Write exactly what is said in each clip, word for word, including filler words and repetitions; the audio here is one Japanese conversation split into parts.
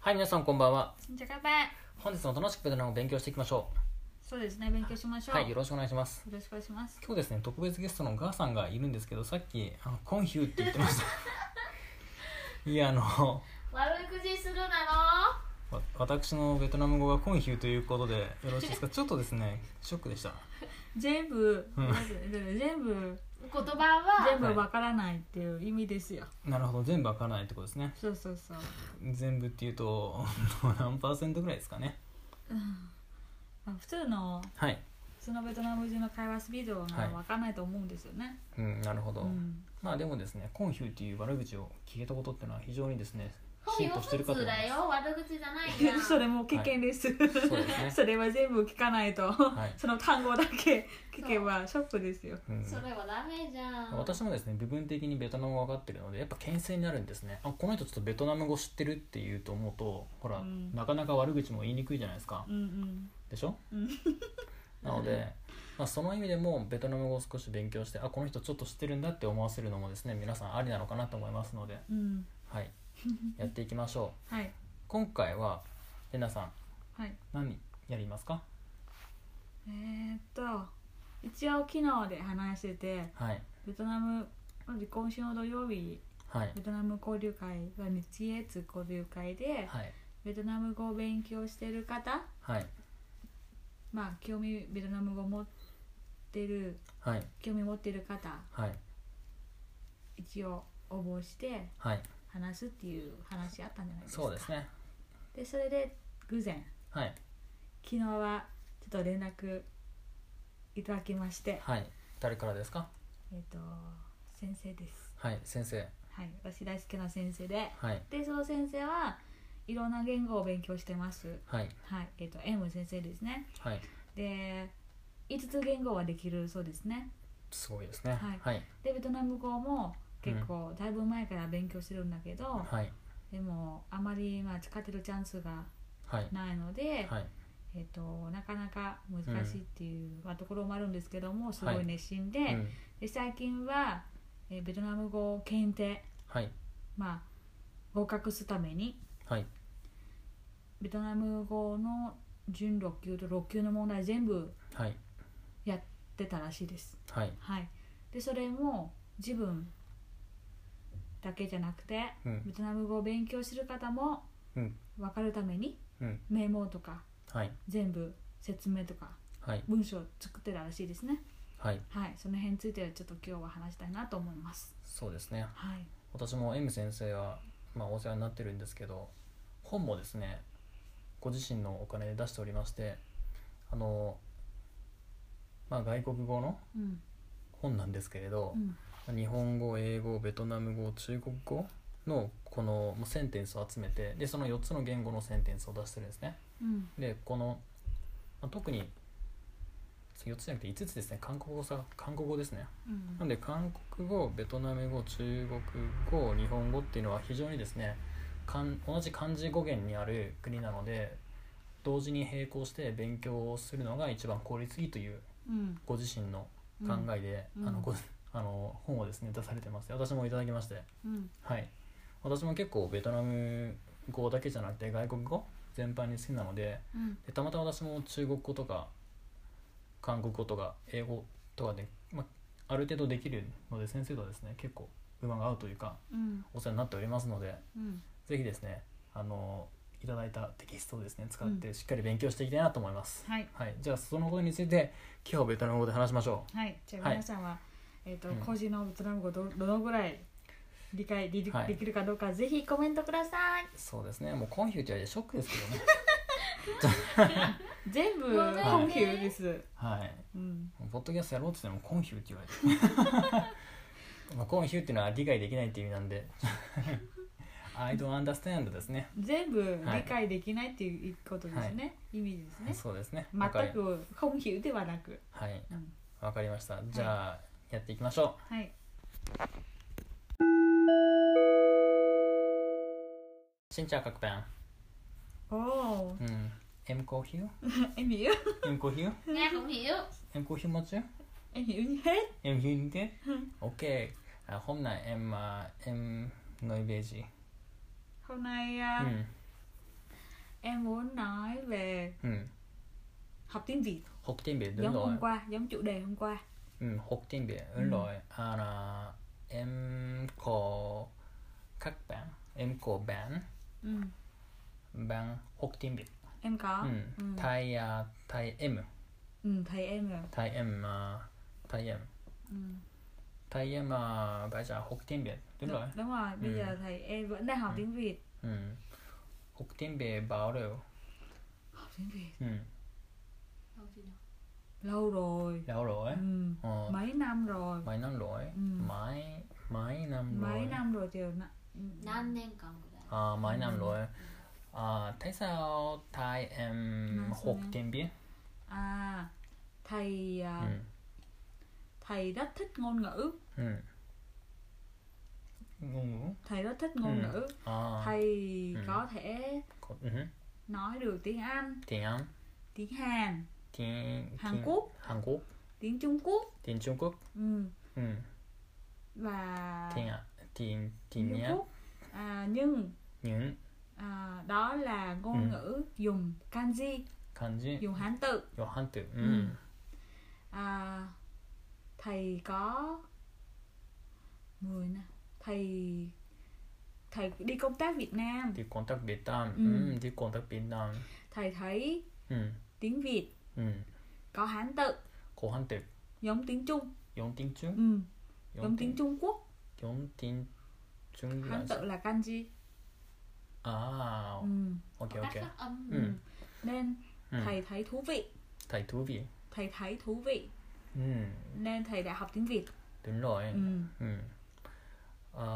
はい、皆さんこんばんは。 じゃあ乾杯。 本日も楽しくベトナムを勉強していきましょそうですね、勉強しましょう。 う。 はい、よろしくお願いします。 よろしくお願いします。 今日ですね、特別ゲストのガーさんがいるんですけど、さっきあのコンヒューって言ってましたいや、あの悪口するなの。 わ私のベトナム語がコンヒューということでよろしいですかちょっとですね、ショックでした。 全部、 うん全部言葉は全部わからないっていう意味ですよ。 なるほど、全部わからないってことですね。 そうそうそう。 全部っていうと何パーセントぐらいですかね。 まあ普通のはい、 普通のベトナム人の会話スピードがわからないと思うんですよね。 うん、なるほど、 うんまあでもですね、コンヒューっていう悪口を聞いたことっていうのは非常にですね、 本よシンとしてるか普通と思います。 だよ、悪口じゃないじゃんそれも危険です。 そうですねそれは全部聞かないと、 はいその単語だけ聞けばショックですよ。 うんそれはダメじゃん。 私もですね、部分的にベトナム語が分かってるのでやっぱ牽制になるんですね。あ、この人ちょっとベトナム語知ってるっていうと思うと、ほら、 うん、 なかなか悪口も言いにくいじゃないですか、 うんうんでしょうんなので、まあ、その意味でもベトナム語を少し勉強して、あ、この人ちょっと知ってるんだって思わせるのもですね、皆さんありなのかなと思いますので、 うんはいやっていきましょう。 はい今回はレナさんはい。 何やりますか？ えー、っと一応昨日で話してて、 はいベトナムまず今週の土曜日はいベトナム交流会が日越交流会で、 はいベトナム語を勉強してる方、 はいまあ興味ベトナム語を持ってるはい興味持ってる方はい一応応募してはい話すっていう話あったんじゃないですか。 そうですね。 でそれで偶然はい昨日はちょっと連絡いただきまして、 はい誰からですか？ えっ、と先生です。 はい先生。 はい、私大好きな先生で、 はいでその先生はいろんな言語を勉強してます。 はいはいえっ、と M 先生ですね。 はいでいつつ言語はできるそうですね。 すごいですね。 はいはいでベトナム語も結構だいぶ前から勉強してるんだけど、 はいでもあまりまあ使ってるチャンスがはいないので、 はいえっとなかなか難しいっていう、まあ、ところもあるんですけども、すごはいい熱心で、 うんで最近は、えーベトナム語検定、 はいまあ、合格するためにはいベトナム語の準ろっ級とろっ級の問題全部はいやってたらしいです。 はいはい、でそれも自分だけじゃなくて、 うんベトナム語を勉強する方もうん分かるためにうんメモとかはい全部説明とかはい文章を作ってたらしいですね。 はいはい、その辺についてはちょっと今日は話したいなと思います。 そうですね。 はい、 私も M 先生は、まあ、お世話になってるんですけど、本もですねご自身のお金で出しておりまして、あの、まあ、外国語のうん本なんですけれどう、ん日本語、英語、ベトナム語、中国語のこのセンテンスを集めて、でそのよっつの言語のセンテンスを出してるんですね。 うんでこの、まあ、特によっつじゃなくていつつですね。韓国語さ韓国語ですね。 うんなんで韓国語、ベトナム語、中国語、日本語っていうのは非常にですね、かん同じ漢字語源にある国なので、同時に並行して勉強をするのが一番効率いいといううんご自身の考えで、 うんうんあのごあの本をですね出されてます。私もいただきまして、 うんはい私も結構ベトナム語だけじゃなくて外国語全般に好きなので、 うんでたまたま私も中国語とか韓国語とか英語とかで、まあ、ある程度できるので、先生とはですね結構馬が合うというかうんお世話になっておりますので、 うんぜひですねあのいただいたテキストをですね使ってしっかり勉強していきたいなと思います。 はいはい、じゃあそのことについて今日はベトナム語で話しましょはい、じゃあはい皆さんは、えっ、と、 うん個人のベトナム語どどのぐらい理解でき,、 はいできるかどうかぜひコメントください。 う。そうですね、もうコンフューって言われてショックですけどね全部ごめんねコンフューです。 はいうん、 ポッドキャストやろうって言ってもコンフューって言われてまあコンフューっていうのは理解できないっていう意味なんでI don't understand ですね。 全部理解できないっていうことですね、意味ですね。 そうですね。 全わかりくコンフューではなく、 はい、 うん、 わかりました。じゃあ、やっていきましょはい。 う。xin chào các bạn. おお、 Ừ. Em có hiểu? em hiểu, Em có hiểu? Nghe không hiểu. Em có hiểu một chứ? em hiểu như hết. Em hiểu như thế? Ok. À, hôm nay em à, em nói về gì? Hôm nay à, Ừ. em muốn nói về ừ. học tiếng Việt. Học tiếng Việt đúng Giống rồi. hôm qua, giống chủ đề hôm qua. Ừ, học tiếng Việt đúng Ừ. rồi. À, là em có các bạn, em có bạn Ừ. bạn học tiếng Việt. Em có. Ừ. Ừ. Thầy à, thầy em, Ừ, thầy em rồi. thầy em à, thầy em, Ừ. thầy em à, bây giờ học tiếng Việt đúng rồi. Đúng rồi, bây Ừ. giờ thầy em vẫn đang học Ừ. tiếng Việt. Ừ. Học tiếng Việt bao lâu? Học tiếng Việt Ừ. Không gì đâu. lâu rồi. Lâu rồi. Ừ. Ờ, Mấy năm rồi. mấy năm rồi. Ừ. Mấy mấy năm rồi. Mấy năm rồi Triều. Ừ. Năm年間ぐらい。 À, mấy năm Ừ. rồi. À, tại sao thầy em Nói học sao em? tiếng Việt? À, thầy à, Ừ. thầy rất thích ngôn ngữ. Ừ. Ngôn ngữ. Thầy rất thích ngôn Ừ. ngữ. À, Thầy Ừ. có thể có, ừ. nói được tiếng Anh, tiếng Anh, tiếng Hàn, tiếng Hàn tiếng- Quốc, Hàn Quốc, tiếng Trung Quốc. tiếng Trung Quốc, Ừ. ừ. Và tiếng tiếng tiếng tiếng Trung Nhật, Quốc. À, nhưng những à, đó là ngôn Ừ. ngữ dùng kanji, kanji, dùng Hán tự. có Hán tự. Ừ. Ừ. À, thầy có mười năm. Thầy thầy đi công tác Việt Nam. Đi công tác Việt Nam, Ừ. ừ. Đi công tác Việt Nam, Thầy thấy ừ. tiếng Việt Ừ. có Hán tự Có Hán tự, giống tiếng Trung. giống tiếng Trung, Ừ. Giống tiếng Trung Quốc. giống tiếng Trung là Hán tự là kanji. à, Ừ. ok Có ok. các phát âm. Ừ. Ừ. Nên Ừ. thầy thấy thú vị. Thầy thú vị. Thầy thấy thú vị Ừ. nên thầy đã học tiếng Việt. Đúng rồi. Ừ. Ừ. À,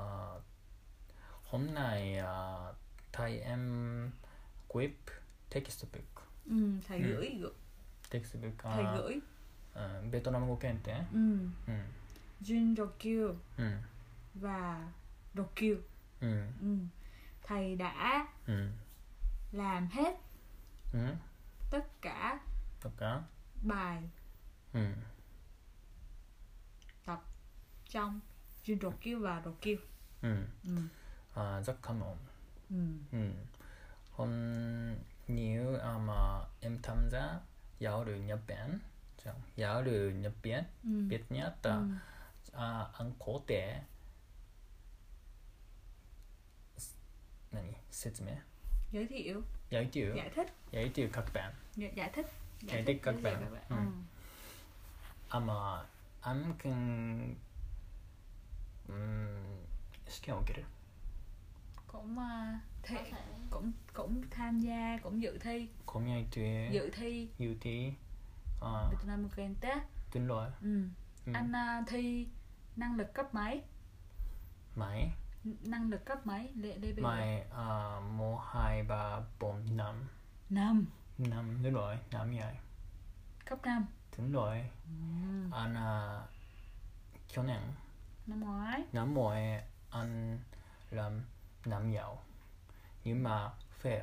hôm nay à, thầy em quip textbook. Ừ. Thầy Ừ. gửi gửi textbook à, thầy gửi. à, Việt Nam ngữ検定. Ừ. Ừ. Jun Rokyu Ừ. và Rokyu. Ừ. Ừ. Thầy đã Ừ. làm hết Ừ. tất cả Tất cả. bài Ừ. tập trong Jun Rokyu và Rokyu. Ừ. Ừ. À, rất cảm ơn. Ừ. Ừ. Hôm nếu à, mà em tham gia giáo sư Nhật Bản, giáo sư Nhật Bản, Ừ. Việt Nhật, Ừ. à, anh có thể 何説明 Giới thiệu, giới thiệu giải thích, giới thiệu các bạn giải, giải thích, Giải thích các giới thiệu bạn. Ừ. Ừ. à mà anh cần um,試験を受ける Cũng uh, thi, Có thể. cũng cũng tham gia, cũng dự thi, コミュニティ dự thi ユーティー à, Việt Nam Kente. đúng rồi. Ừ. Ừ. Anh uh, thi năng lực cấp mấy? Mày N- năng lực cấp mấy? Lê, lê bê mày à, một hai ba bốn năm năm. năm đúng rồi, năm vậy Cấp năm. đúng rồi. Ừ. Anh à, 去年 Năm ngoái. năm ngoái anh làm năm giàu nhưng mà fail.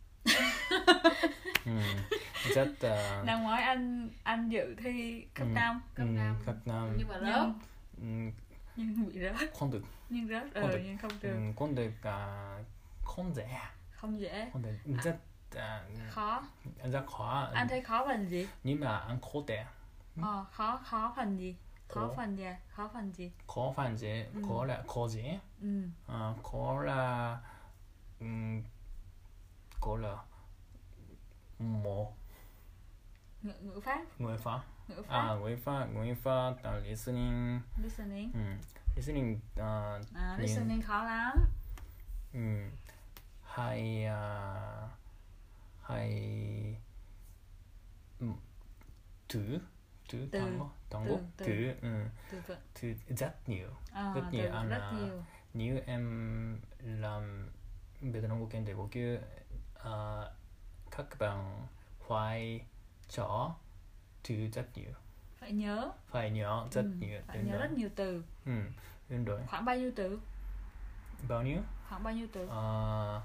ừ. Rất uh, Năm ngoái anh anh dự thi cấp Ừ. năm. Cấp ừ, năm. cấp năm Nhưng mà Nhưng, lớp. ừ, nhưng bị rớt. không được. Nhưng rớt. Không Ờ, được. nhưng không Ừ, được. không được à, không dễ Không dễ. không được rất à, Khó. rất khó. Anh thấy khó phần gì? nhưng mà anh có thể Ờ, khó khó phần gì? Khó Khó. phần gì? Khó phần gì? có phần gì Ừ. có là có gì Ừ. à, có là um, có là một Ngữ, ngữ pháp. người pháp Ngữ pháp. à người pháp người pháp uh, listening Listening. um, listening uh, À, Nhìn- listening khó lắm. um, hay uh, hay um, từ từ Từ. 単語単語 Từ, từ. từ ừ, Từ vựng. từ rất nhiều. À, Rất từ nhiều anh rất à. nhiều. Nếu em làm Việt Nam ngữ検定五級uh, các bạn phải cho từ rất nhiều, Phải nhớ. phải nhớ rất Ừ, nhiều. phải Đúng nhớ rồi. rất nhiều từ. Ừ, đúng rồi. Khoảng bao nhiêu từ? Bao nhiêu? Khoảng bao nhiêu từ? Ờ,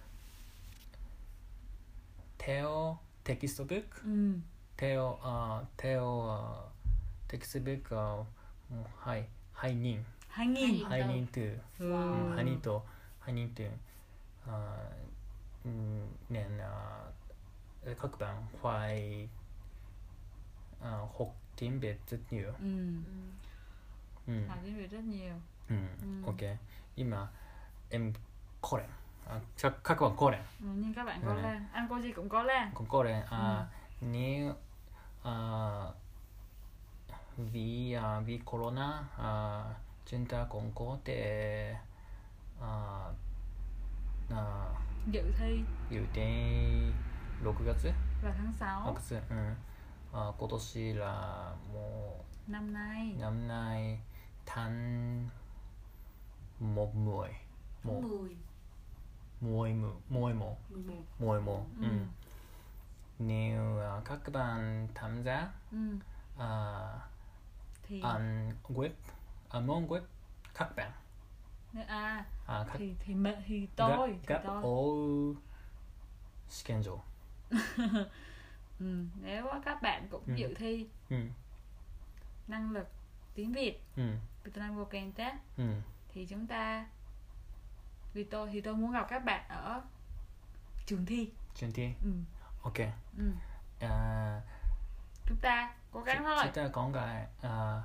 theo textbook, Ừ. theo uh, theo uh, textbook uh, hai hai nghìn Hai nghìn. Hai nghìn. hai nghìn từ. Ừ. Ừ, hai nghìnとhai nghìnとuh, 年啊các bạn phải uh, học tiếng Việt rất nhiều. Ừ. Ừ. Học tiếng Việt rất nhiều. Ừ. Ừ. Ok. Nhưng mà em có lên. À, các các bạn có lên. Ừ, nhưng các bạn có Ừ. lên, anh cô gì cũng có lên. Cũng có lên. À, nếu à, vì à, vì corona à, chúng ta cũng có thể à, à, Dự thi dự thi sáu月 vào tháng sáu 6月、うん、あ今年làも năm nay. う năm nay tháng một mười một mười mười mười mười một mười một mười một Ừ. ừ. Nếu à, các bạn tham gia Ừ. à, Thì ăn web ăn món web các bạn à à, các thì thì mẹ thì tôi thì gặp tôi. ở 試験場 Ừ. Nếu các bạn cũng Ừ. dự thi うん năng lực tiếng Việt うん Vietnam Go Contest うん thì chúng ta vì tôi thì tôi muốn gặp các bạn ở trường thi. 順天 Ừ. OK Ừ. à, Chúng ta cố gắng thôi. chúng ta có cái à,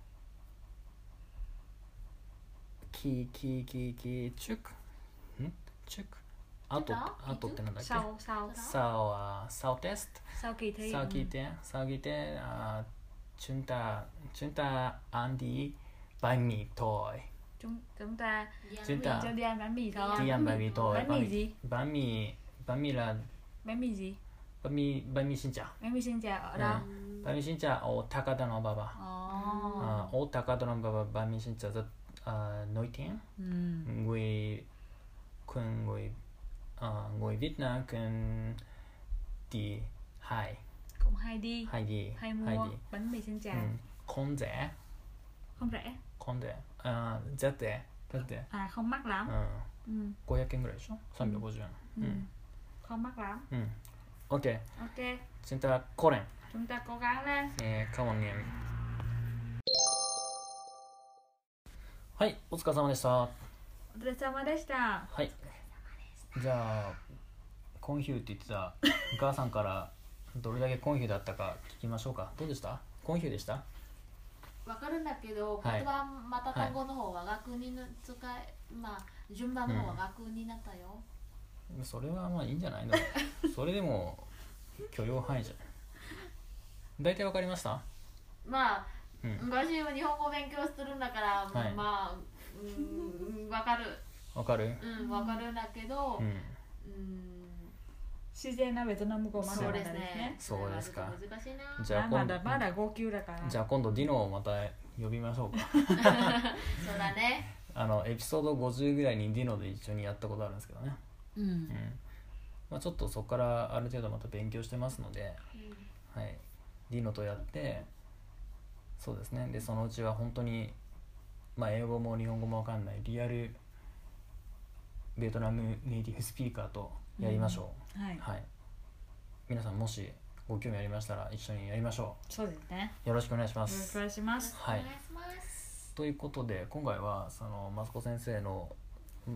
kỳ kỳ kỳ kỳ trước ừ? trướcあと đó, あとってなんだっけ sau sau sau à, sau test sau kỳ thi. sau Ừ. kỳ thi sau kỳ thi à, chúng ta chúng ta ăn đi bánh mì thôi chúng chúng ta chúng ta cho đi ăn bánh mì thôi. đi ăn bánh mì thôi Bánh mì gì? bánh mì bánh mì là Bánh mì gì? bánh mì bánh mì xin chào Bánh mì xin chào ở đâu? Ừ. bánh mì xin chào ở Takada no Baba Ồ. à, ở Takada no Baba bánh mì xin chào rất à, nổi tiếng. Ừ. người con người à, người Việt Nam cần đi hay Cũng hay đi hay đi hay mua đi bánh mì xin chào. ừ. không rẻ Không rẻ không rẻ à, rất rẻ rất rẻ à, không mắc lắm. ừ. Ừ. ごひゃくえんぐらいでしょ さんびゃくごじゅうえん Ừ. ừ. Không mắc lắm. ừ. OK Ok, chúng ta cố lên chúng ta cố gắng lên. えー、カモンにはいお疲れ様でしたお疲れ様でした。 はいじゃあコンヒューって言ってたお母さんからどれだけコンヒューだったか聞きましょうか。どうでした？コンヒューでした？ わかるんだけど、 はい言葉また単語の方は学にの使い、まあ順番の方は学になったよ。 それはまあいいんじゃないのそれでも許容範囲じゃない大体わかりました？ まあ、 うん昔は日本語勉強するんだから、 はいまあ、うん、わかる。 わかる？ うん、わかるんだけど、 うんうん、 自然なベトナム語まだそうですまだですねね。。 そうですかちょっと難しいな。 じゃあ今まだまだ号泣だから。 じゃあ今度ディノをまた呼びましょうかそうだね。 あのエピソードごじゅうぐらいにディノで一緒にやったことあるんですけどね、 うんう。んまあ、ちょっとそこからある程度また勉強してますので、 うんはい、ディノとやってそうですねでそのうちは本当に、まあ、英語も日本語もわかんないリアルベトナムネイティブスピーカーとやりましょう、 はい。 はい、皆さんもしご興味ありましたら一緒にやりましょそうですね。 う。よろしくお願いします。 よろしくお願いします。 はいお願いします。 ということで今回はそのマスコ先生のん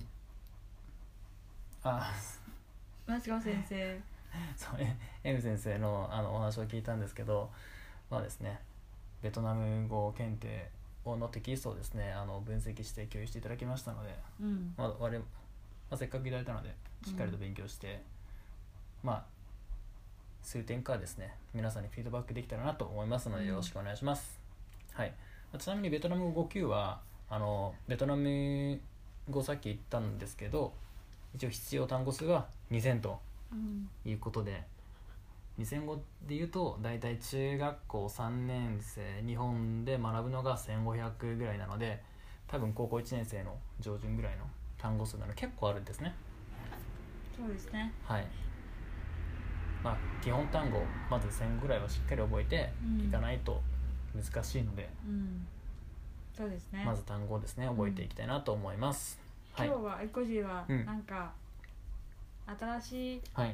あマスコ先生。 そうね M 先生のあのお話を聞いたんですけどまあですねベトナム語検定のテキストをですねあの分析して共有していただきましたので、 うん。 まあ我々まあ、せっかくいただいたのでしっかりと勉強して、まあ数点からですね皆さんにフィードバックできたらなと思いますのでよろしくお願いします、はいちなみにベトナム語ご級はあのベトナム語さっき言ったんですけど一応必要単語数はにせんとうん。 いうことでにせん語でいうとだいたい中学校さんねん生日本で学ぶのがせんごひゃくぐらいなので多分高校いちねん生の上旬ぐらいの単語数なので結構あるんですね。 そうですね。 はいまあ基本単語まずせんぐらいはしっかり覚えてうんいかないと難しいので、 うん。そうですね。 まず単語をですね覚えていきたいなと思います、はい今日はエコジーはうんなんか新しい、 はい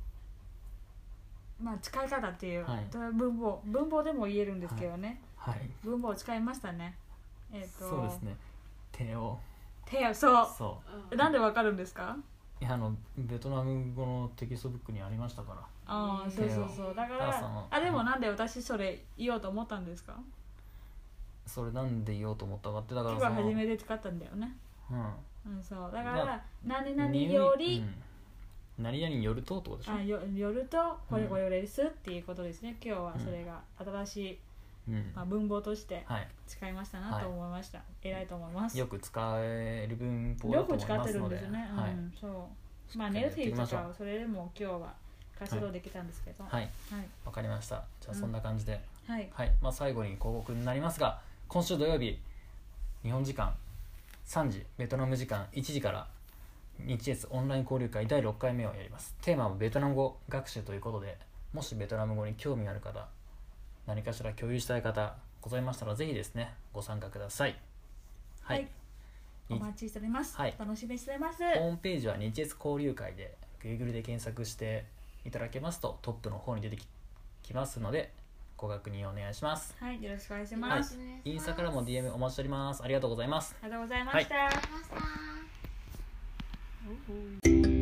まあ使い方っていう、 はい文法文法でも言えるんですけどね、 はい文法を使いましたね。えっ、とそうですね手を手をそうそうんなんでわかるんですか？ いやあのベトナム語のテキストブックにありましたから。 ああそうそうそうだからタラさんはあでもなんで私それ言おうと思ったんですか。 それなんで言おうと思ったかってだから今日は初めて使ったんだよね。 うんうんそうだから、 まあ何々より、 うん、何々によるとってことでしょ。 あよよるとこれこれですっていうことですね。今日はそれが新しい、 うんまあ、文法としてはい使いましたなと思いました。偉いと思います。 よく使える文法だよと思いく使ってるんますのでですね。 はいうんそうまあしっかりやっていネルティきましょうとかそれでも今日は活動できたんですけどははいいわかりました。じゃあそんな感じで、 はいはいまあ、最後に広告になりますが、今週土曜日日本時間さんじ、ベトナム時間いちじから日越オンライン交流会だいろっかいめをやります。テーマはベトナム語学習ということで、もしベトナム語に興味がある方、何かしら共有したい方ございましたらぜひですねご参加ください。はい、 はいお待ちしております、 はい楽しみにしてます。 ホームページは日越交流会で Google で検索していただけますとトップの方に出てききますのでご確認お願いします。 はいよろしくお願いしはいます、 インスタからも ディーエム お待ちしております。ありがとうございます。 ありがとうございました、 ありがとうございました。 おうおう